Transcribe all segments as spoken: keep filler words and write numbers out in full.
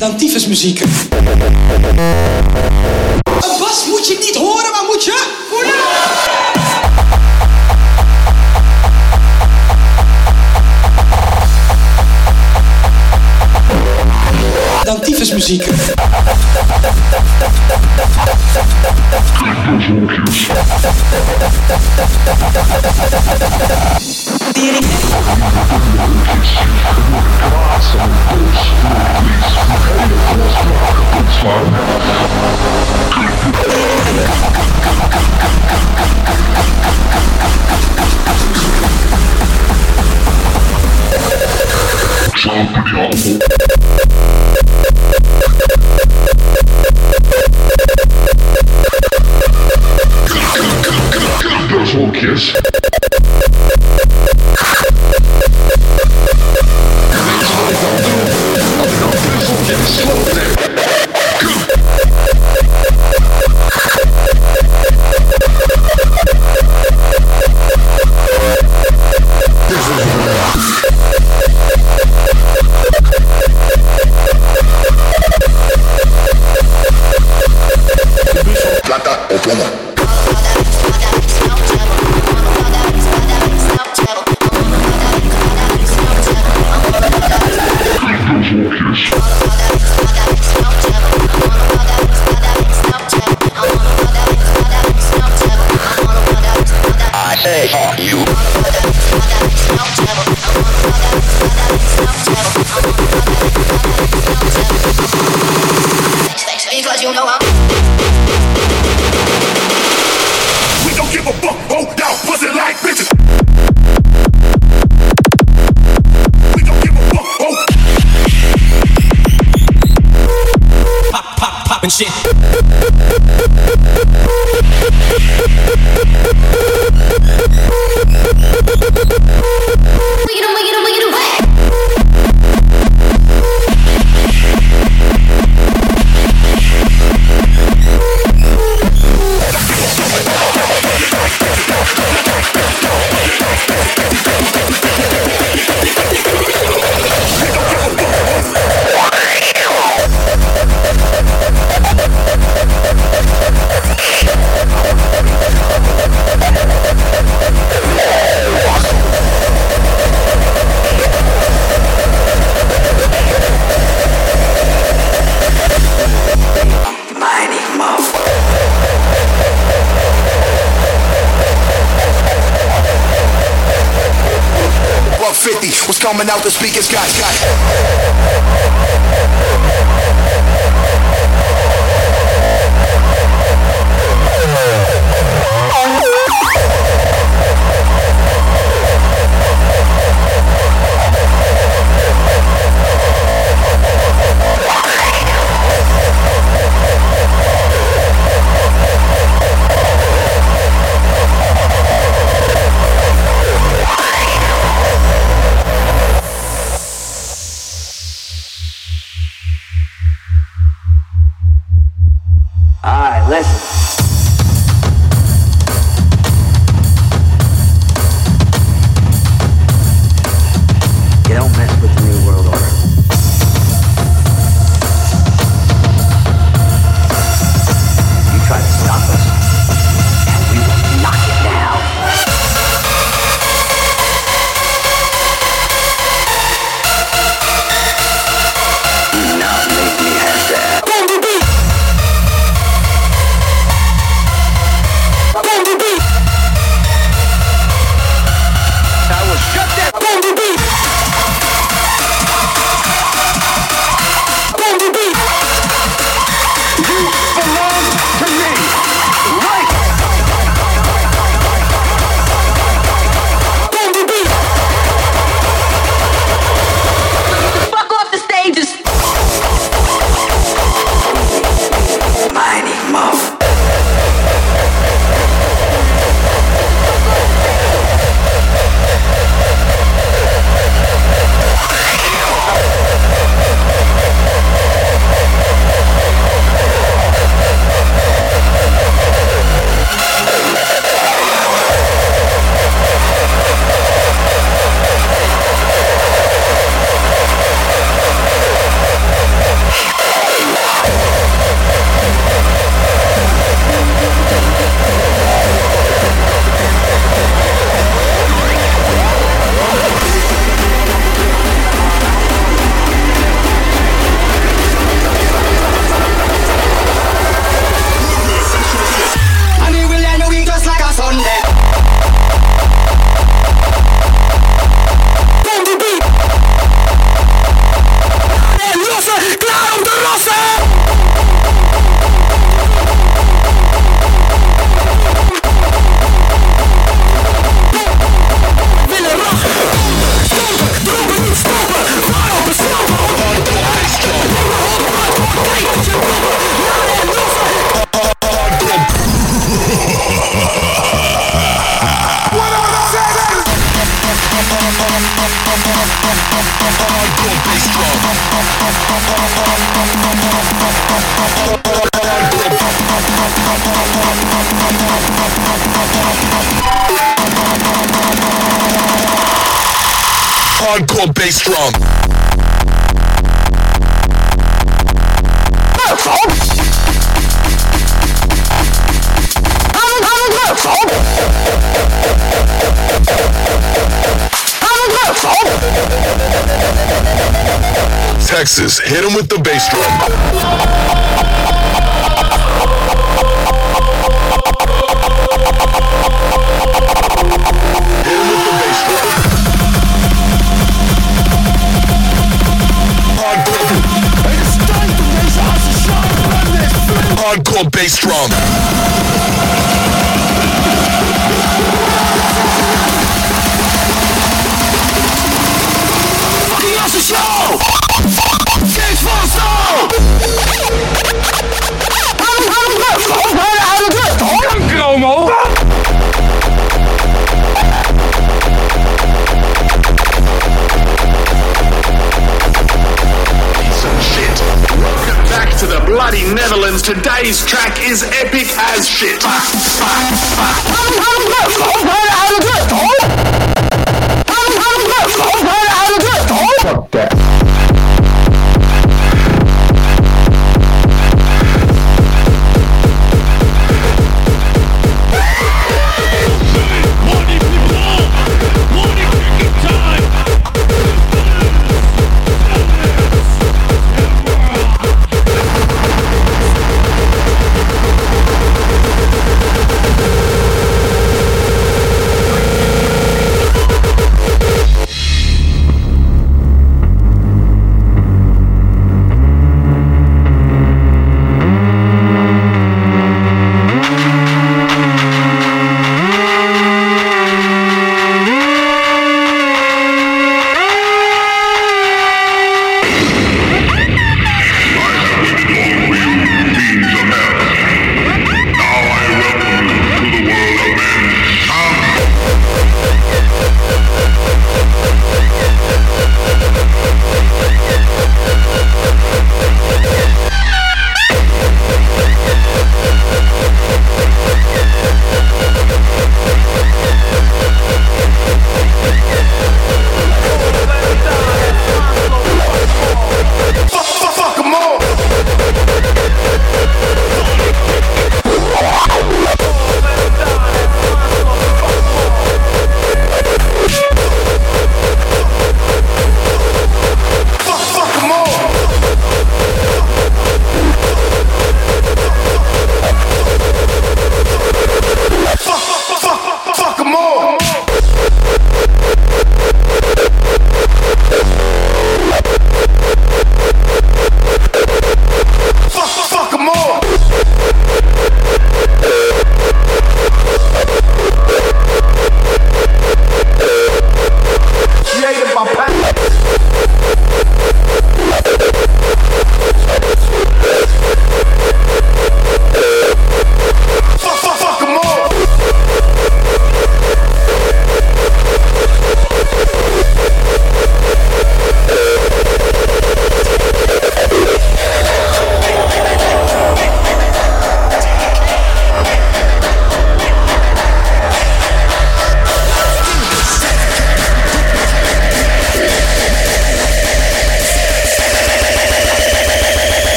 dan tyfusmuziek. Een bas moet je niet horen, maar moet je voelen. Dan tyfusmuziek. Kiss. Plata o plomo. I say fuck you. Because you know I'm. We don't give a fuck. Hold down, pussy like bitches. We don't give a fuck. Hold. Pop, pop, pop and shit. fifty was coming out the speakers, guys, guys. Hardcore bass drum. Texas, hit him with the bass drum. Hardcore bass drum. Fucking awesome show! Six full soul! Como? Back to the bloody Netherlands. Today's track is epic as shit. Fuck that.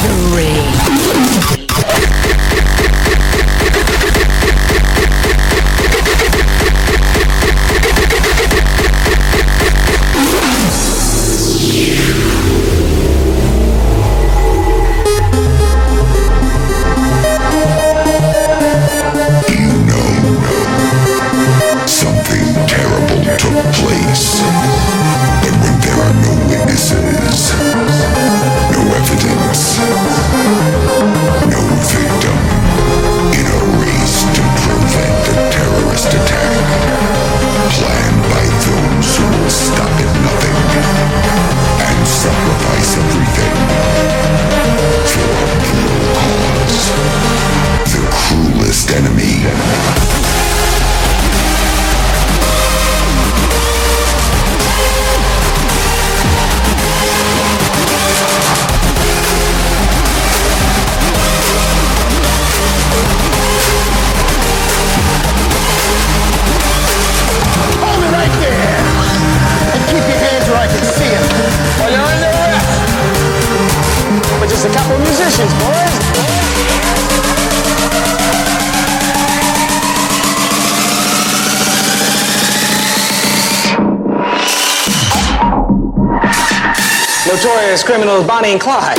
Notorious criminals Bonnie and Clyde.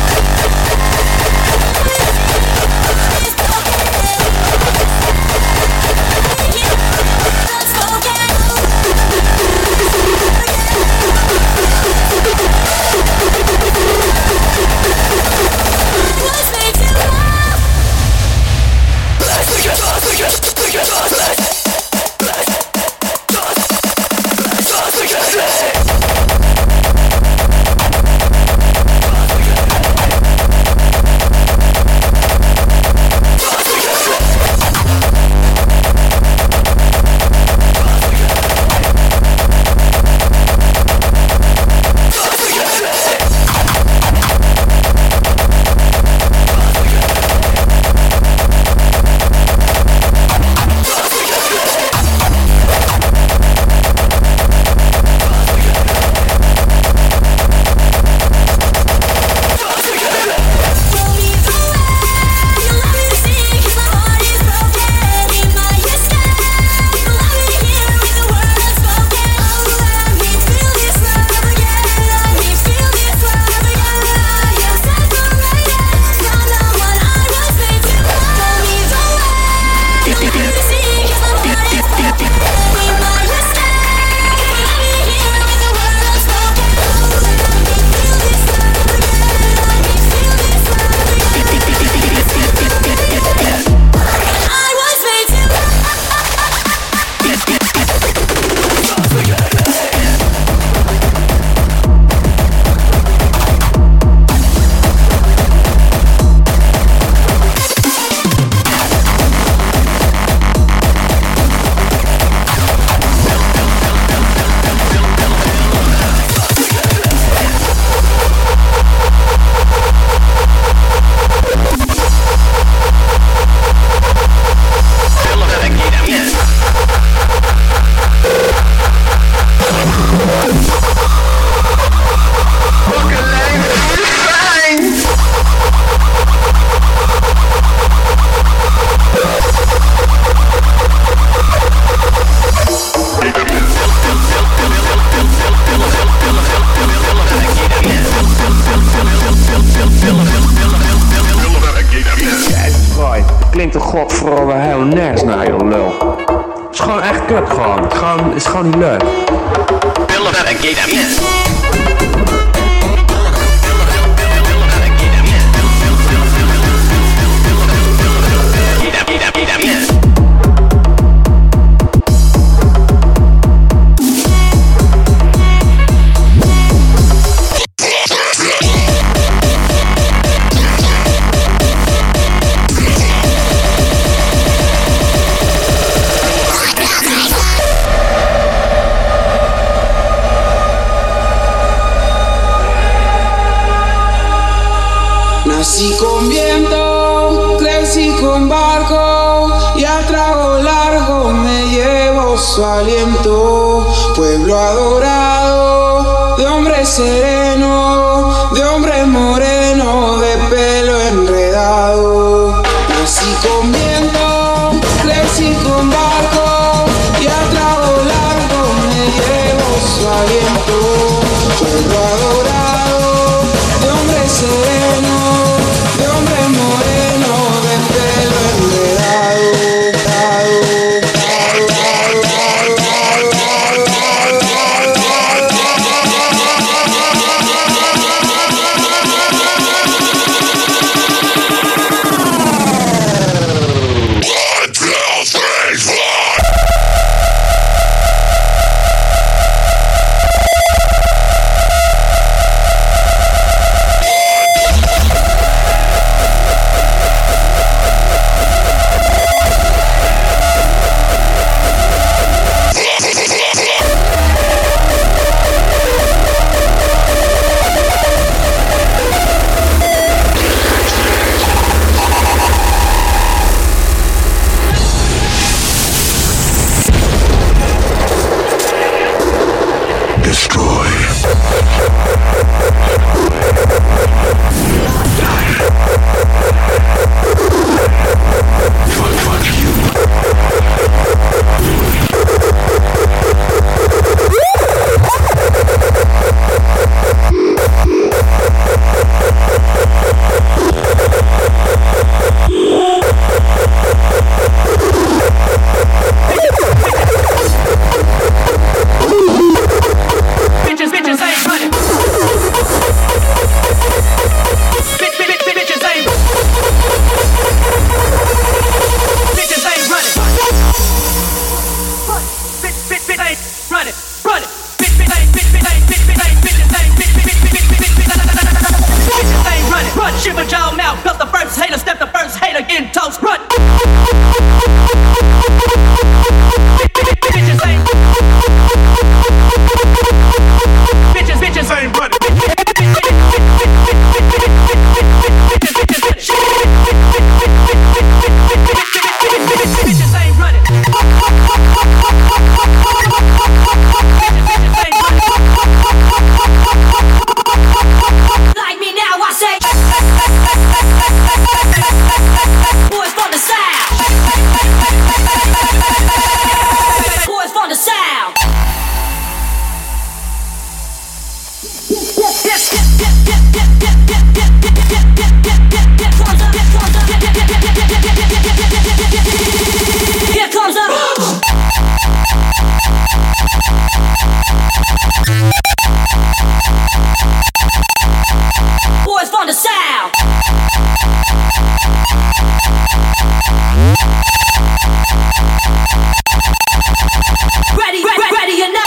Klinkt de godverdomme helemaal nergens naar, joh, lul. Het is gewoon echt kut, gewoon. Het is gewoon, het is gewoon niet leuk. Nací con viento, crecí con barco y a trago largo me llevo su aliento. Pueblo adorado, de hombre sereno, de hombre moreno, de pelo Shut your mouth, cause the first hater step the first hater in toast. Run. Bitches ain't. Bitches, bitches ain't running. Bitches ain't running. Like me now, I say. Boys from the south. Boys from the south. Here comes a boys from the south. Ready, ready, ready enough.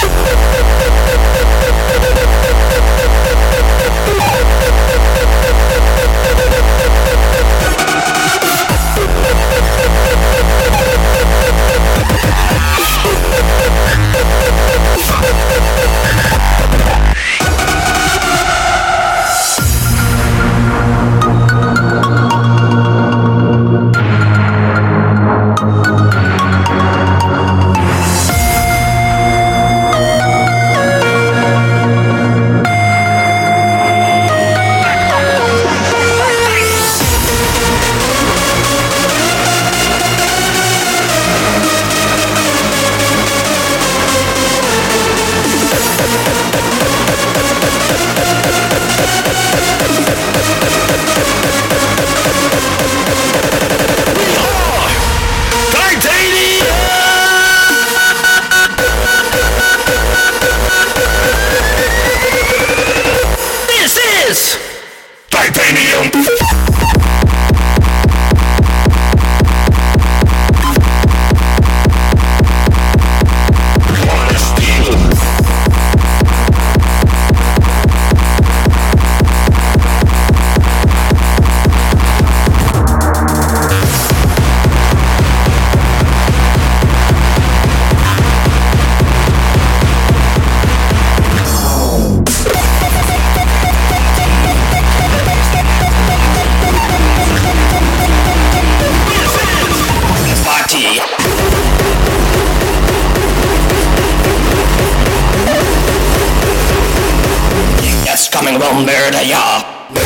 Coming will murder ya.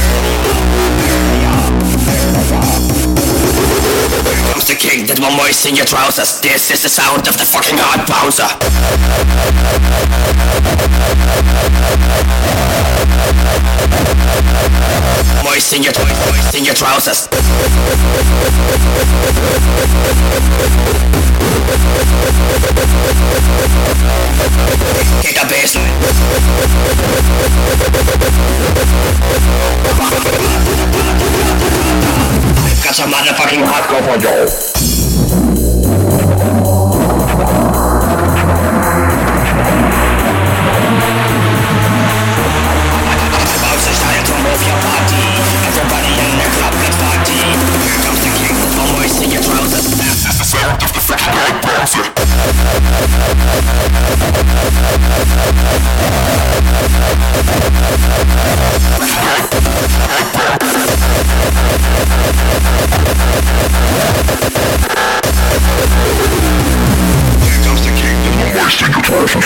Here comes the king that will moisten your trousers. This is the sound of the fucking hard bouncer. Moisten your, moisten your trousers. Kick a baseline. I've got some motherfucking hardcore for you. About the style to move your body. Everybody in the club, let's party. Here comes the king with one voice in your trousers. This is the sound of the fucking hard bouncer. Here comes the king with one voice in your trousers.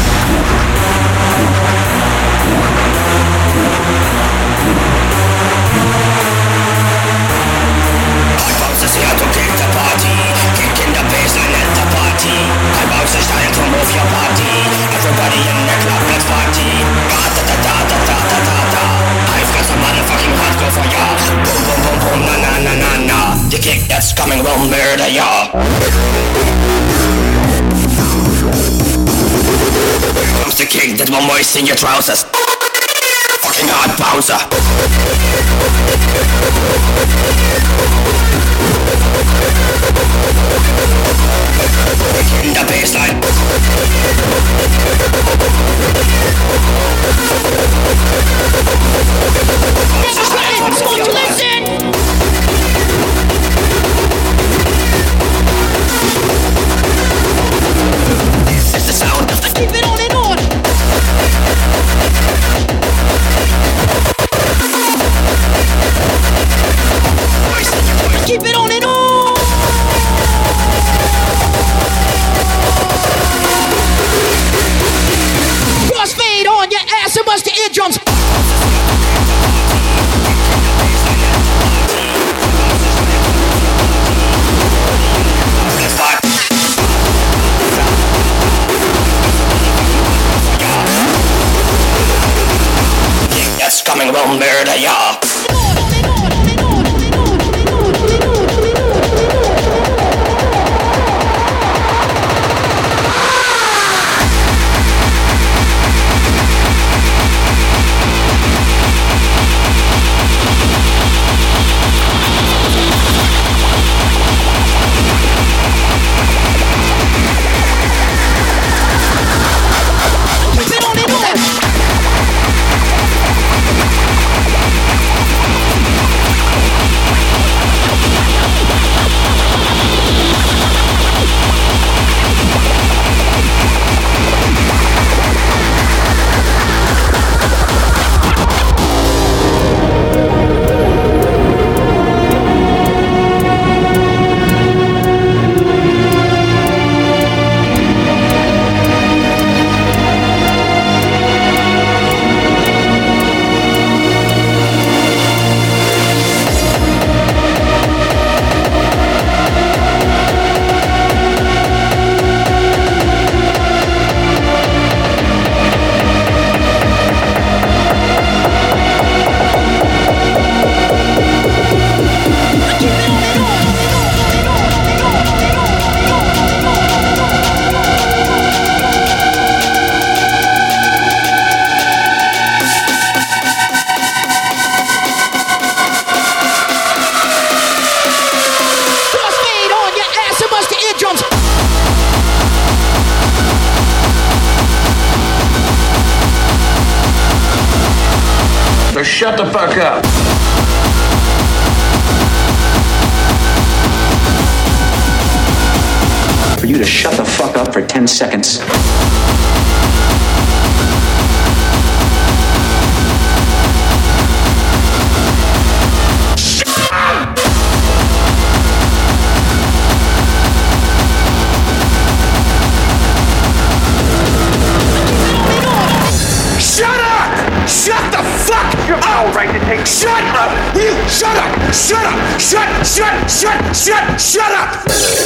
Here to kick the party, kicking the bassline at the party. I bounce the style to move your body. Everybody in the club, let's party. Da da da da da da da da da. I've got some motherfucking hardcore for ya. Boom boom boom boom na na na na na. The kick that's coming will murder ya. Here comes the king that will moisten your trousers. Fucking hard bouncer. In the baseline. This is the Keep it on and on. Crossfade on your ass and bust the eardrums. That's coming will murder ya. So shut the fuck up. For you to shut the fuck up for ten seconds. Shut the fuck up! Right to take shut up! Will you shut up? Shut up! Shut, shut, shut, shut, shut up!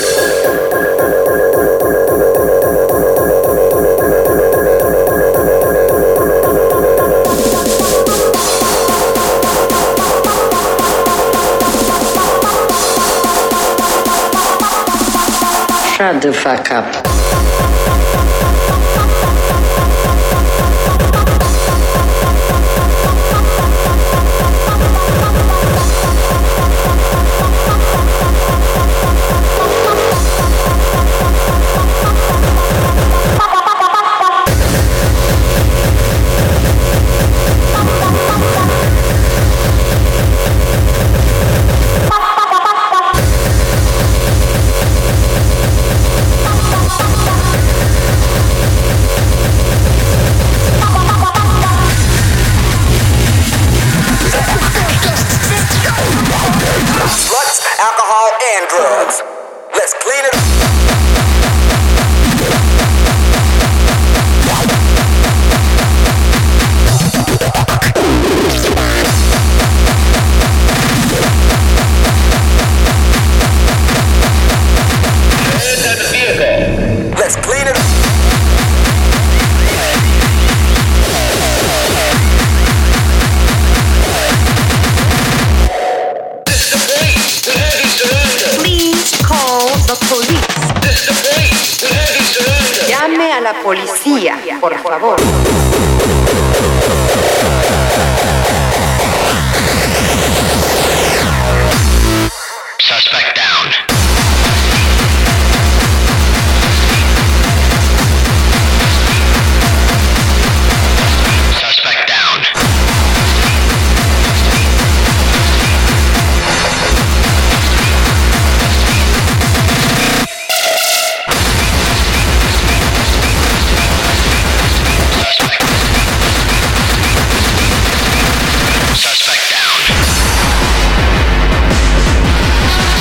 Shut the fuck up. Llame a la policía, por favor. Suspect down. Suspect down. Suspect down.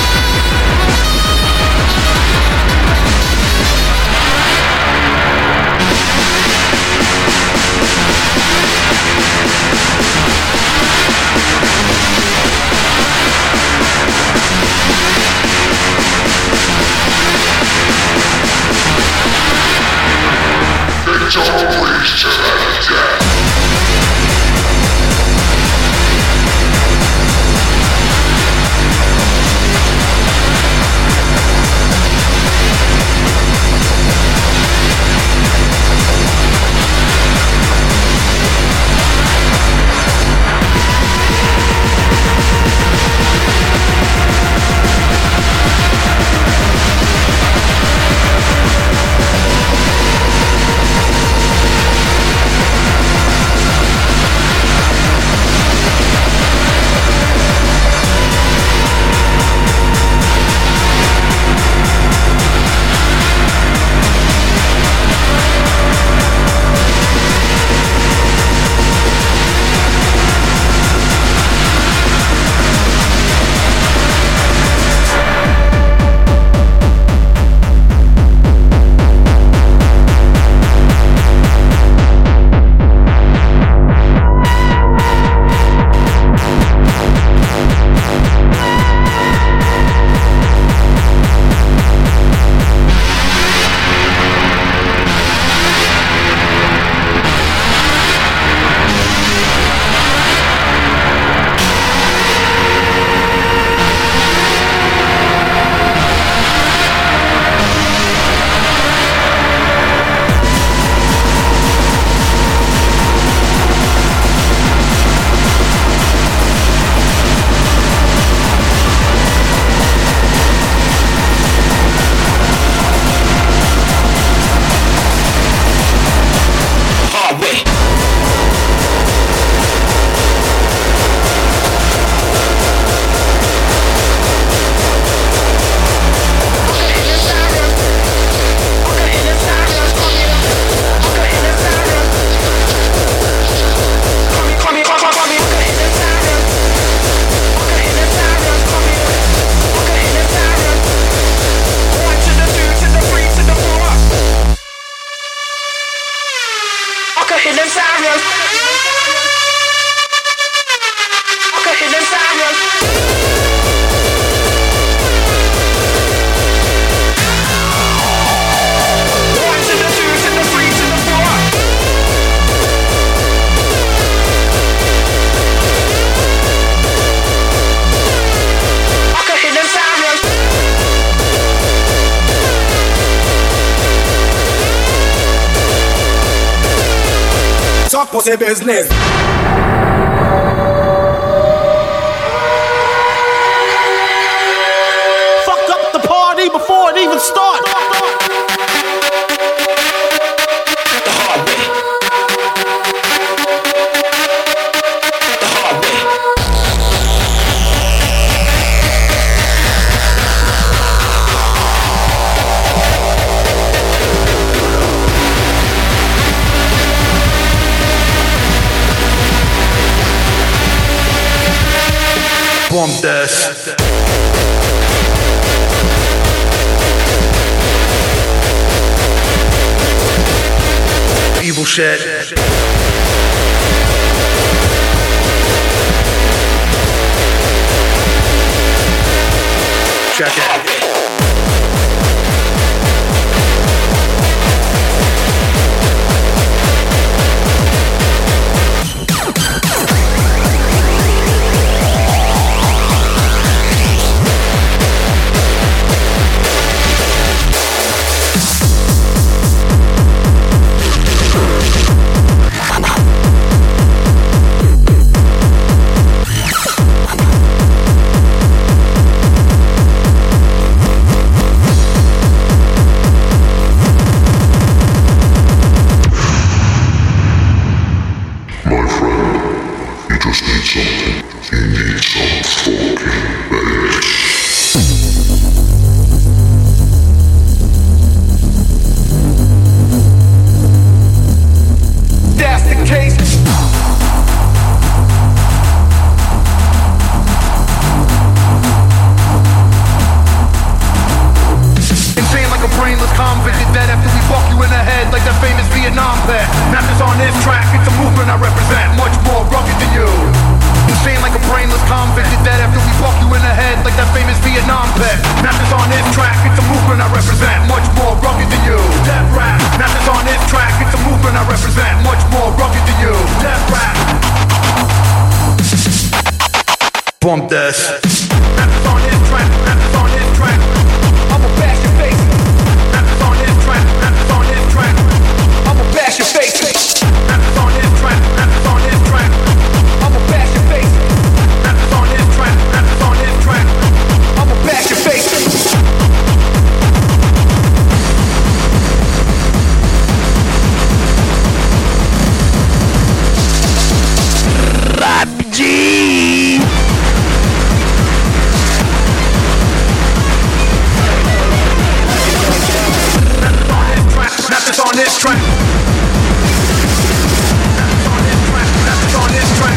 pussy business. Fuck up the party before it even starts. Bump this. Evil shit. Check it. Bump this. Rappers on this track, rappers on this track. I'ma bash your face. Rappers on this track, rappers on this track. I'ma bash your face. Rappers on this track, rappers on this track. I'ma bash your face. Rappers on this track, rappers on this track. I'ma bash your face. Rap G. Rappers on this track. Rappers on this track. Rappers on this track.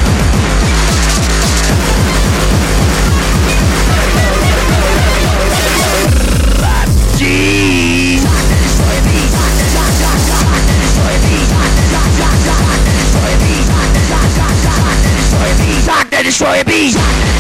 Rap G. Doctor Destroyer Beast.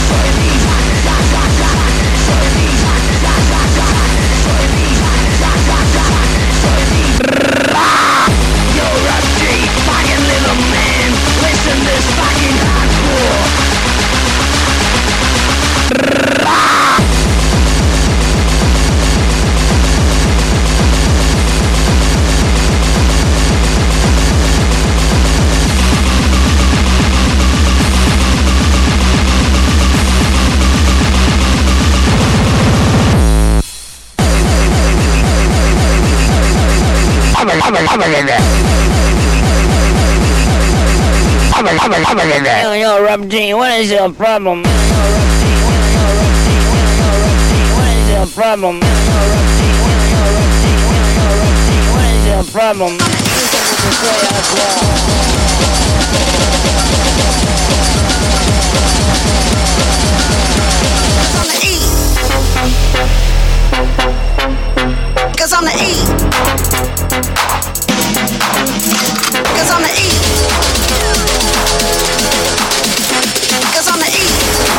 Yo, yo, Rob G, what is your problem? What is your problem? What is your problem? Cause I'm the E. Cause I'm the E. Cause I'm the E.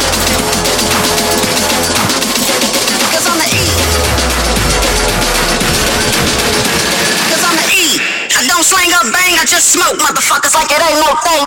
Cause I'm the E. Cause I'm the E. I don't slang up bang, I just smoke motherfuckers like it ain't no thing.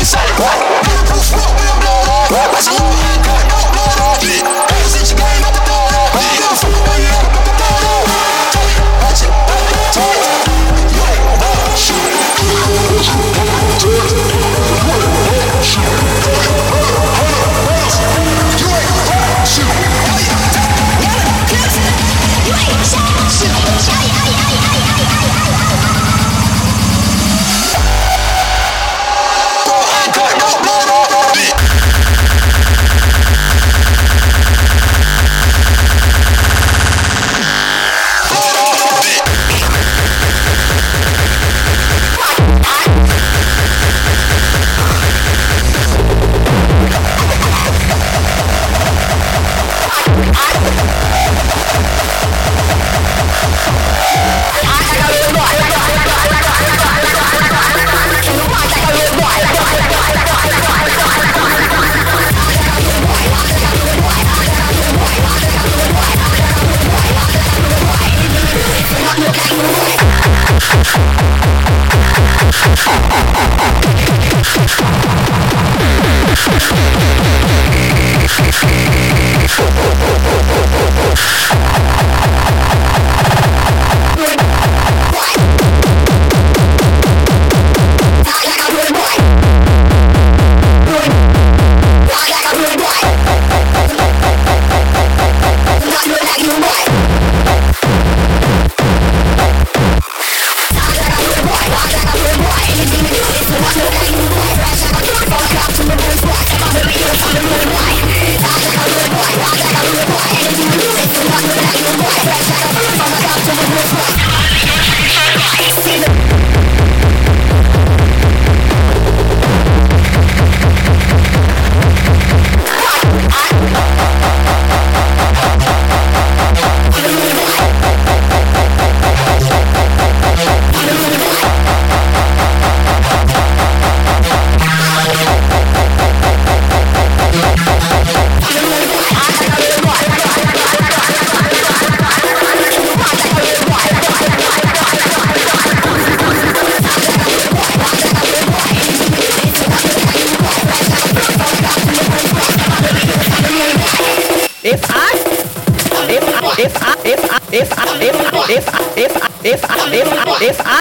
if I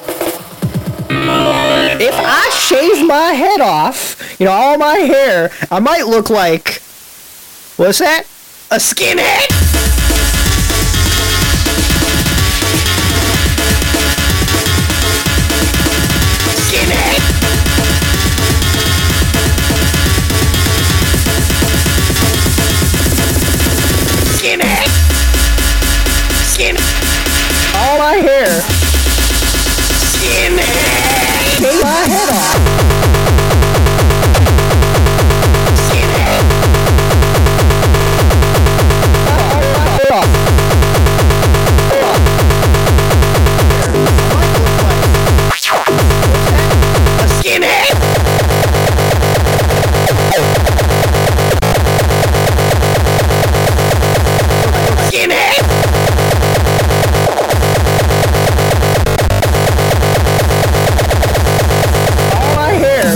if I shave my head off, you know, all my hair, I might look like, what's that? A skinhead? Skinhead. Skinhead. Skin. All my hair. Skinhead. Shave my head off. Skinhead. A skinhead. Skinhead. All my hair.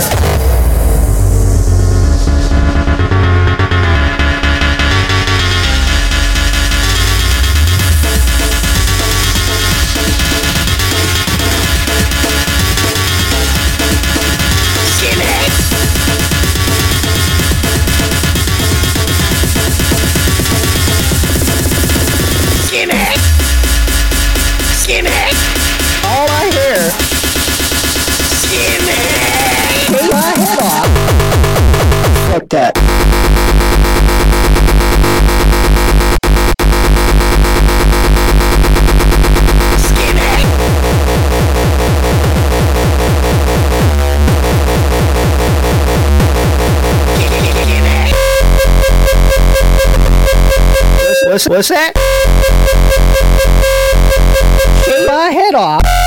Skinhead. Skinhead. Skinhead. All my hair. Skinhead. Take my head off. Fuck that. Skinhead. Skinhead. What's, what's, what's that? Take my head off.